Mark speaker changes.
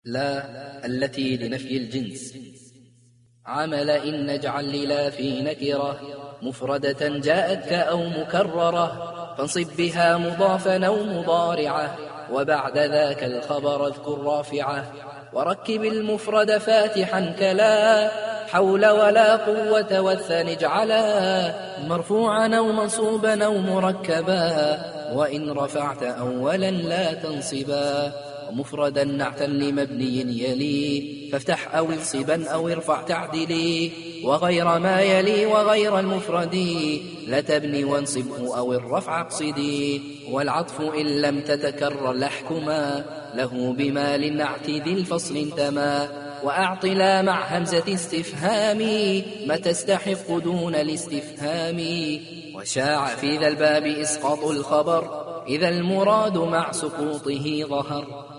Speaker 1: لا التي لنفي الجنس. عمل إن نجعل للا في نكرة مفردة جاءتك أو مكررة فانصب بها مضافا أو مضارعة وبعد ذاك الخبر اذكر رافعة وركب المفرد فاتحا كلا حول ولا قوة والثاني اجعلا مرفوعا أو منصوبا أو مركبا وإن رفعت أولا لا تنصبا ومفردا نعتا لمبني يلي فافتح أو انصبا أو ارفع تعدلي وغير ما يلي وغير المفرد لا تبني وانصبه أو الرفع اقصدي والعطف إن لم تتكرر لحكما له بما للنعت ذي الفصل انتما وأعط لا مع همزة استفهام ما تستحق دون الاستفهام وشاع في ذا الباب إسقاط الخبر إذا المراد مع سقوطه ظهر.